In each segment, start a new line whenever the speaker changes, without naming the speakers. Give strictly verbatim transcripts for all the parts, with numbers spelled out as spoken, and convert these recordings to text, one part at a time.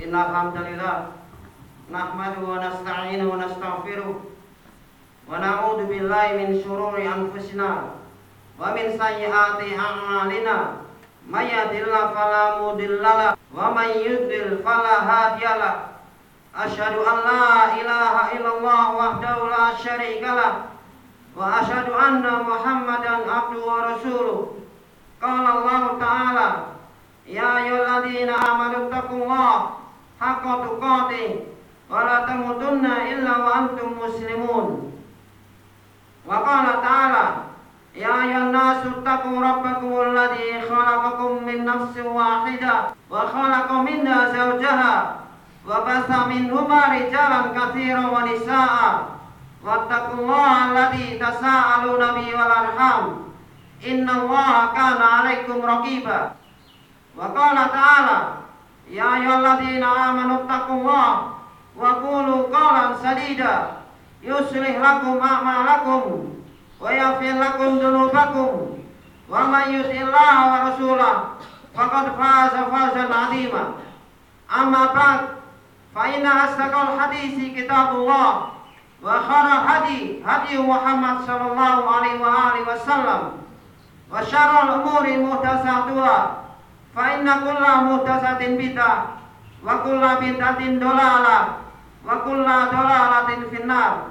Innal hamdalillah nahmaduhu wa nasta'inuhu wa nastaghfiruh wa na'udzu billahi min shururi anfusina wa min sayyiati a'malina may yahdihillahu fala mudhillalah wa may yudlil fala hadiyalah. Asyhadu an la ilaha illallah wahdahu la syarikalah wa asyhadu anna Muhammadan abduhu wa rasuluh. Qala Allah Ta'ala, ya ayyuhalladzina amanu taqullaha haqqa tuqatih wa la tamutunna illa wa antum muslimun. Wa qala ta'ala, ya ayyuhan nasu taqu rabbakumul ladzi khalaqakum min nafsin wahidah wa khalaqa minha zawjaha wa basa minhuma rijalan katsiran wa nisaa'a wattaqullaha alladzi tasaaluna bihi wal arham innallaha kana 'alaikum raqiba. Wa qala ta'ala, ya ayyuhalladzina amanu taqullaha wa qulu qawlan sadida yuslih lakum a'malakum wa yaghfir lakum dzunubakum wa may yuti'illaha wa rasulahu faqad faza fawzan 'azima. Amma ba'd, fa inna asdaqal hadisi kitabullah wa khairal hadi hadi Muhammad sallallahu alaihi wa alihi wasallam wa syarrul umuri muhdatsatuha fa inna kulla muhdatsatin bid'ah wa kulla bid'atin dhalalah wa kulla dhalalatin finnar.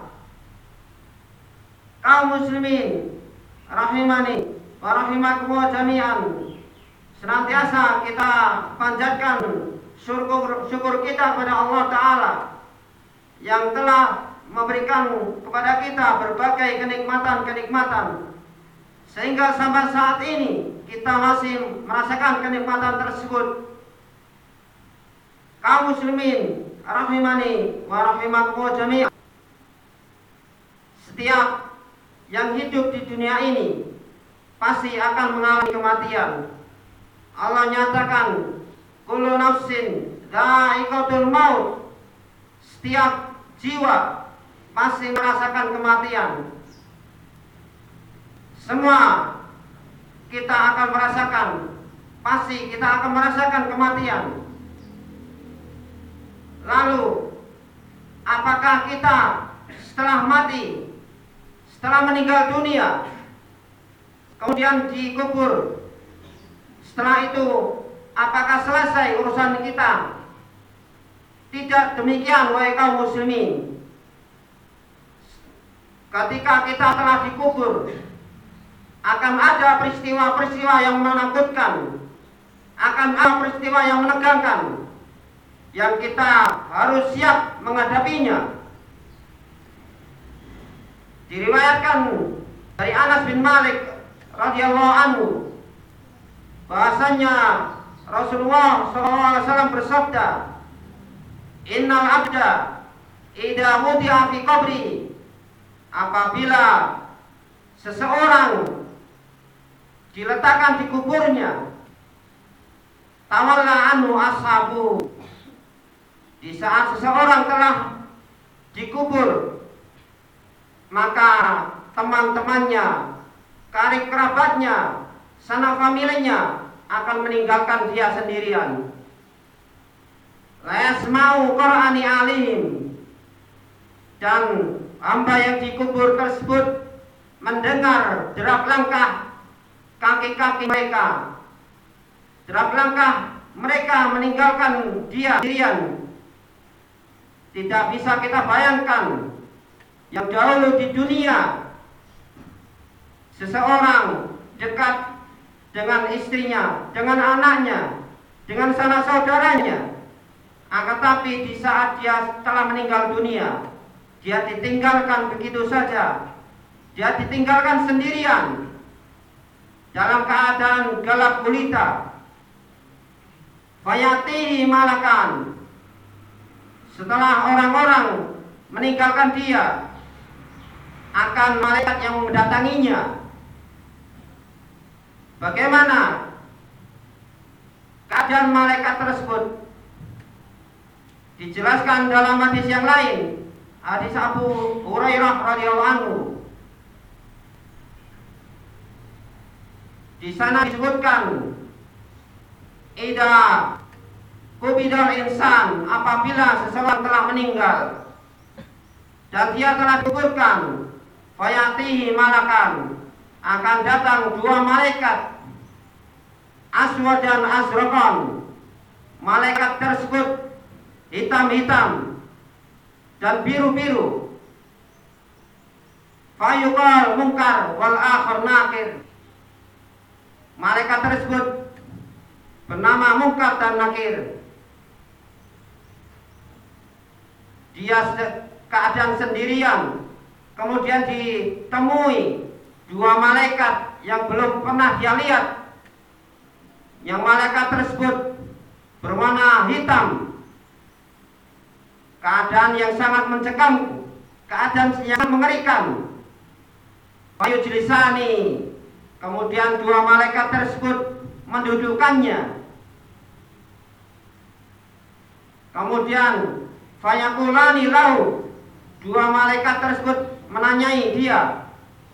Kaum muslimin rahimani wa rahimakumullah jami'an, senantiasa kita panjatkan syukur, syukur kita kepada Allah Ta'ala yang telah memberikan kepada kita berbagai kenikmatan-kenikmatan sehingga sampai saat ini kita masih merasakan kenikmatan tersebut. Kaum muslimin rahimani wa rahimakumullah jami'an, setiap yang hidup di dunia ini pasti akan mengalami kematian. Allah nyatakan, kullu nafsin dha'iqatul maut, setiap jiwa pasti merasakan kematian. Semua kita akan merasakan, pasti kita akan merasakan kematian. Lalu, apakah kita setelah mati, setelah meninggal dunia, kemudian dikubur, setelah itu apakah selesai urusan kita? Tidak demikian, wahai kaum muslimin. Ketika kita telah dikubur, akan ada peristiwa-peristiwa yang menakutkan, akan ada peristiwa yang menegangkan, yang kita harus siap menghadapinya. Diriwayatkan dari Anas bin Malik radhiyallahu anhu bahasanya Rasulullah shallallahu alaihi wasallam bersabda, innal abda idza wudi'a fi qabri, apabila seseorang diletakkan di kuburnya, tawalla anhu ashabu, di saat seseorang telah dikubur, maka teman-temannya, karib kerabatnya, sanak familinya akan meninggalkan dia sendirian. La yasma'u qur'ani alim, dan hamba yang dikubur tersebut mendengar derap langkah kaki-kaki mereka, derap langkah mereka meninggalkan dia sendirian. Tidak bisa kita bayangkan, yang dahulu di dunia seseorang dekat dengan istrinya, dengan anaknya, dengan sanak saudaranya, akan tapi di saat dia telah meninggal dunia, dia ditinggalkan begitu saja, dia ditinggalkan sendirian dalam keadaan gelap gulita. Fayatihi malakan, setelah orang-orang meninggalkan dia, akan malaikat yang mendatanginya. Bagaimana keadaan malaikat tersebut? Dijelaskan dalam hadis yang lain, hadis Abu Hurairah radhiyallahu anhu. Di sana disebutkan, idza kubidal insan, apabila seseorang telah meninggal dan dia telah dikuburkan, fayatihi malakan, akan datang dua malaikat, aswad dan azraqan. Malaikat tersebut hitam-hitam dan biru-biru. Fayuqal munkar wal akhir nakir. Malaikat tersebut bernama Munkar dan Nakir. Dia keadaan sendirian, kemudian ditemui dua malaikat yang belum pernah dia lihat. Yang malaikat tersebut berwarna hitam, keadaan yang sangat mencekam, keadaan yang mengerikan. Fayujlisani, kemudian dua malaikat tersebut mendudukannya. Kemudian fayakulani lahu, dua malaikat tersebut menanyai dia,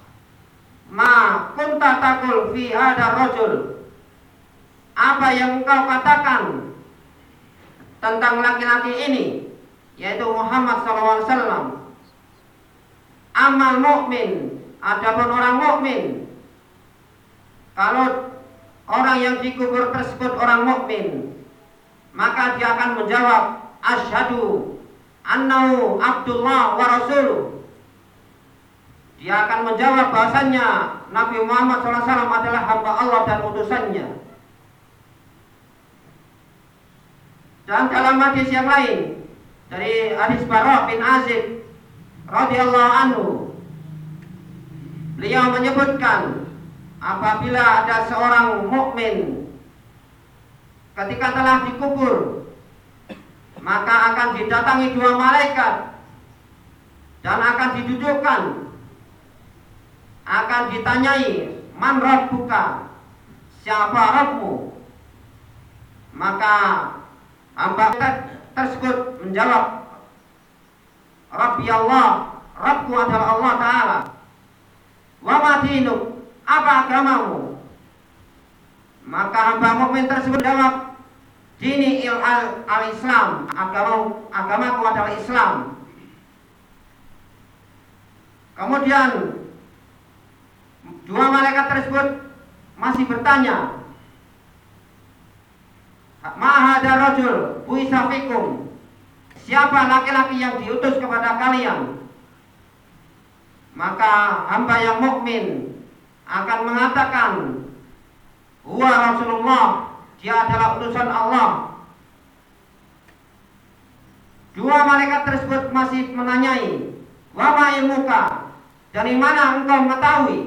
ma kunta taqul fi hadar rajul, apa yang engkau katakan tentang laki-laki ini, yaitu Muhammad sallallahu alaihi wasallam. Amal mukmin, adapun orang mukmin, kalau orang yang dikubur tersebut orang mukmin, maka dia akan menjawab, asyhadu annahu Abdullah wa rasuluh. Dia akan menjawab bahasanya Nabi Muhammad sallallahu alaihi wasallam adalah hamba Allah dan utusannya. Dan dalam hadis yang lain dari hadis Bara' bin Azib radhiyallahu anhu, beliau menyebutkan apabila ada seorang mukmin ketika telah dikubur, maka akan didatangi dua malaikat dan akan didudukkan, akan ditanyai, man rabbuka, siapa Rabbmu? Maka hamba tersebut menjawab, Rabbi Allah, Rabbku adalah Allah Ta'ala. Wa ma dinuk, apa agamamu? Maka hamba mukmin tersebut jawab, dini il al-Islam, agama agamaku adalah Islam. Kemudian dua malaikat tersebut masih bertanya, ma hadar rajul bu'itsa fikum, siapa laki-laki yang diutus kepada kalian? Maka hamba yang mukmin akan mengatakan, huwa Rasulullah, dia adalah utusan Allah. Dua malaikat tersebut masih menanyai, wa ma ilmuka, dari mana engkau mengetahui?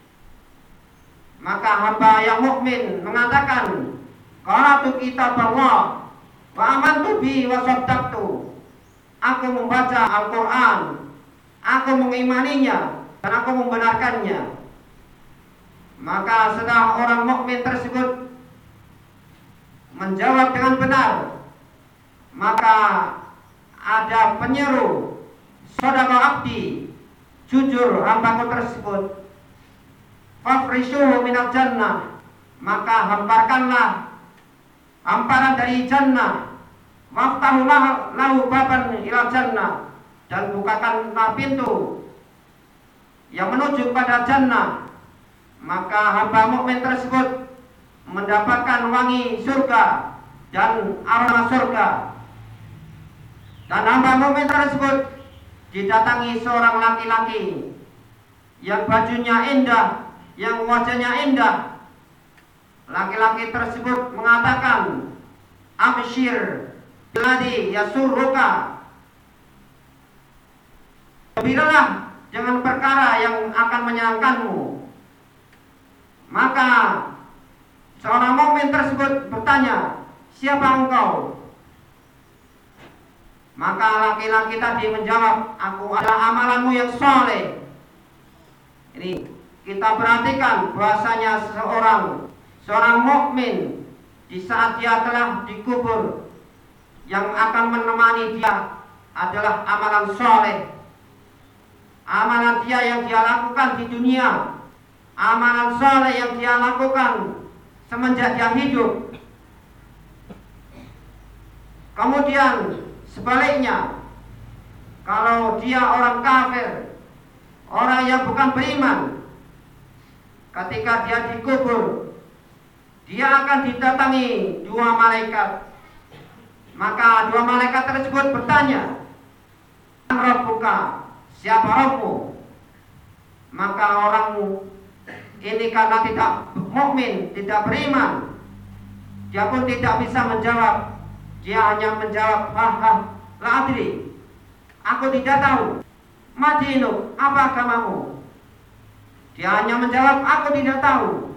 Maka hamba yang mukmin mengatakan, qara'tu kitab Allah wa amantu bi wa saddaqtu. Aku membaca Al-Qur'an, aku mengimaninya dan aku membenarkannya. Maka setelah orang mukmin tersebut menjawab dengan benar, maka ada penyeru, sadaqa abdi, jujur hambaku tersebut, fafrishuhu minal jannah, maka hamparkanlah hamparan dari jannah, waftahu lahu baban ilal jannah, dan bukakanlah pintu yang menuju pada jannah. Maka hamba mukmin tersebut mendapatkan wangi surga dan aroma surga. Dan hamba mukmin tersebut didatangi seorang laki-laki yang bajunya indah, yang wajahnya indah. Laki-laki tersebut mengatakan, absyir billadzi yasurruka, gembiralah dengan perkara yang akan menyenangkanmu. Maka seorang mukmin tersebut bertanya, siapa engkau? Maka laki-laki tadi menjawab, aku adalah amalanmu yang soleh. Ini kita perhatikan bahasanya seorang seorang mukmin di saat dia telah dikubur, yang akan menemani dia adalah amalan soleh. Amalan dia yang dia lakukan di dunia, amalan soleh yang dia lakukan semenjak dia hidup. Kemudian sebaliknya, kalau dia orang kafir, orang yang bukan beriman, ketika dia dikubur, dia akan didatangi dua malaikat. Maka dua malaikat tersebut bertanya, Rabbuka, siapa Rabbu? Maka orang ini karena tidak mukmin, tidak beriman, dia pun tidak bisa menjawab. Dia hanya menjawab, haha, la adri, aku tidak tahu. Madinuk, apa agamamu? Dia hanya menjawab, aku tidak tahu.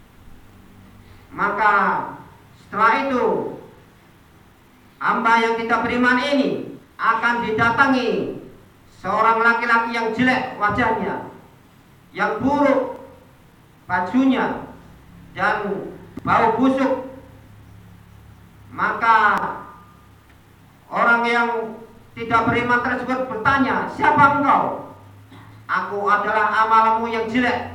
Maka setelah itu, hamba yang tidak beriman ini akan didatangi seorang laki-laki yang jelek wajahnya, yang buruk bajunya, dan bau busuk. Maka orang yang tidak beriman tersebut bertanya, siapa engkau? Aku adalah amalmu yang jelek.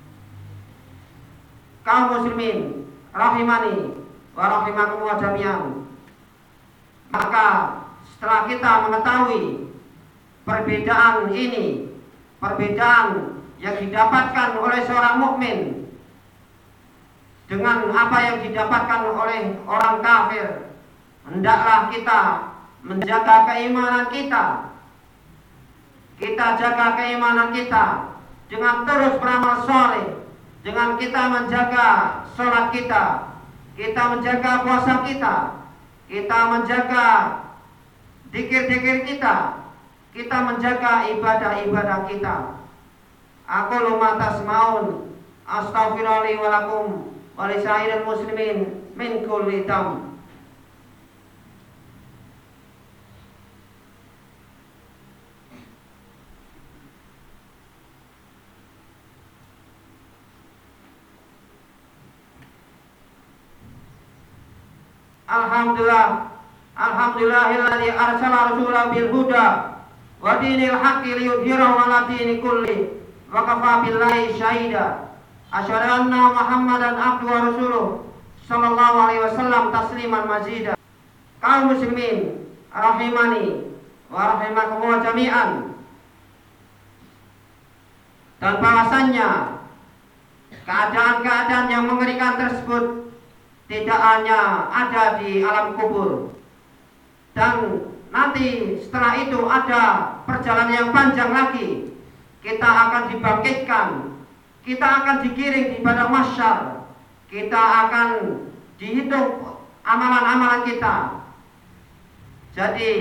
Kaum muslimin rahimani wa rahimakumullah jami'an. Maka setelah kita mengetahui perbedaan ini, perbedaan yang didapatkan oleh seorang mukmin dengan apa yang didapatkan oleh orang kafir, hendaklah kita menjaga keimanan kita. Kita jaga keimanan kita dengan terus beramal soleh, dengan kita menjaga sholat kita, kita menjaga puasa kita, kita menjaga zikir-zikir kita, kita menjaga ibadah-ibadah kita. Aku luma tasmaun, astaghfirullahi wa lakum wa lisairil muslimin min kulli dam. Alhamdulillah, alhamdulillahilladzi arsala rasulahu bil huda wa dinil haqqi liyudhhirahu 'ala dini kulli wa kafa billahi syahida. Asyhadu anna Muhammadan abduhu wa rasuluh sallallahu alaihi wasallam tasliman mazida. Kaum muslimin rahimani wa rahimakumullah jami'an. Dan bahwasannya keadaan-keadaan yang mengerikan tersebut tidak hanya ada di alam kubur, dan nanti setelah itu ada perjalanan yang panjang lagi. Kita akan dibangkitkan, kita akan digiring di padang mahsyar, kita akan dihitung amalan-amalan kita. Jadi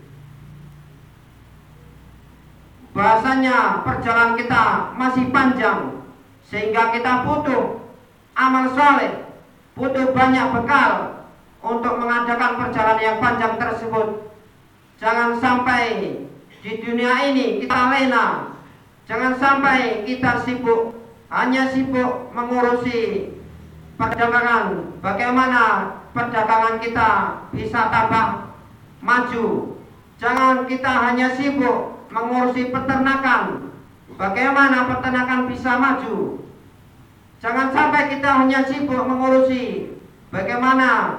bahasanya perjalanan kita masih panjang, sehingga kita butuh amal soleh, butuh banyak bekal untuk mengadakan perjalanan yang panjang tersebut. Jangan sampai di dunia ini kita lena, jangan sampai kita sibuk, hanya sibuk mengurusi perdagangan, bagaimana perdagangan kita bisa tambah maju. Jangan kita hanya sibuk mengurusi peternakan, bagaimana peternakan bisa maju. Jangan sampai kita hanya sibuk mengurusi bagaimana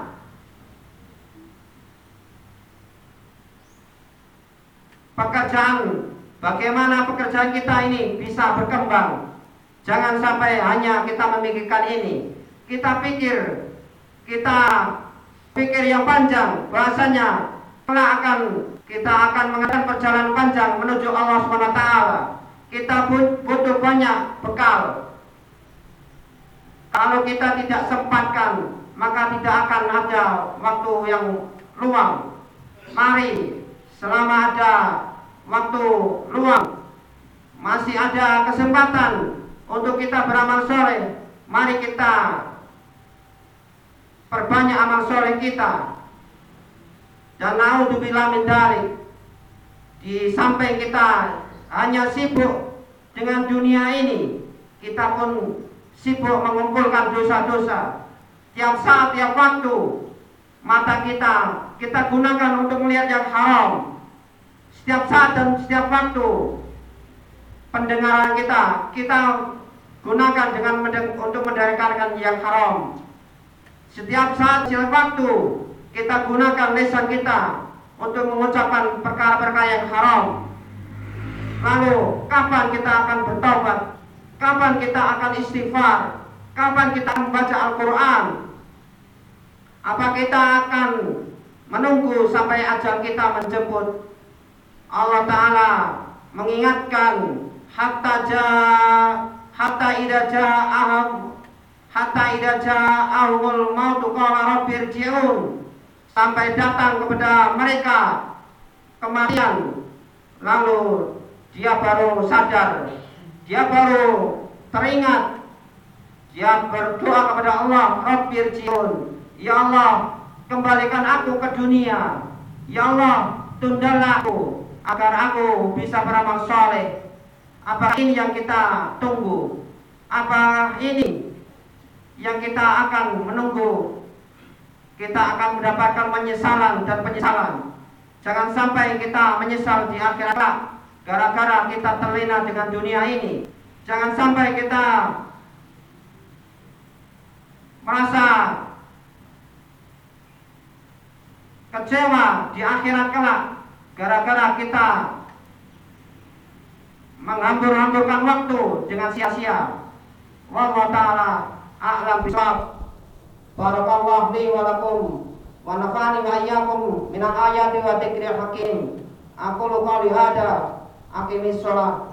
pekerjaan, bagaimana pekerjaan kita ini bisa berkembang. Jangan sampai hanya kita memikirkan ini. Kita pikir, kita pikir yang panjang, bahasanya kelak akan kita akan mengadakan perjalanan panjang menuju Allah subhanahu wa taala. Kita butuh banyak bekal. Kalau kita tidak sempatkan, maka tidak akan ada waktu yang luang. Mari, selama ada waktu luang, masih ada kesempatan untuk kita beramal soleh, mari kita perbanyak amal soleh kita. Dan naudzubillah min dzalik, di samping kita hanya sibuk dengan dunia ini, kita pun sibuk mengumpulkan dosa-dosa. Tiap saat, tiap waktu, mata kita kita gunakan untuk melihat yang haram. Setiap saat dan setiap waktu, pendengaran kita kita gunakan dengan mendeng- untuk mendengarkan yang haram. Setiap saat, setiap waktu, kita gunakan lisan kita untuk mengucapkan perkara-perkara yang haram. Lalu kapan kita akan bertobat? Kapan kita akan istighfar? Kapan kita akan membaca Al-Quran? Apa kita akan menunggu sampai ajal kita menjemput? Allah Ta'ala mengingatkan hatta ja hatta idza ja'ahum hatta idza ja'ahumul mautu qala rabbirji'un, sampai datang kepada mereka kematian, lalu dia baru sadar, dia baru teringat, dia berdoa kepada Allah, rabbirji'un, ya Allah, kembalikan aku ke dunia, ya Allah, tundalah aku agar aku bisa beramal soleh. Apa ini yang kita tunggu? Apa ini yang kita akan menunggu? Kita akan mendapatkan penyesalan dan penyesalan. Jangan sampai kita menyesal di akhirat gara-gara kita terlena dengan dunia ini. Jangan sampai kita merasa kecewa di akhirat kelak gara-gara kita menghambur-hamburkan waktu dengan sia-sia. Wallahu ta'ala a'lam bishawab. Barakallahu li wa lakum wa nafa'ani wa iyyakum minal ayati wa dzikril hakim. Aqulu qawli hadza aqimis shalah.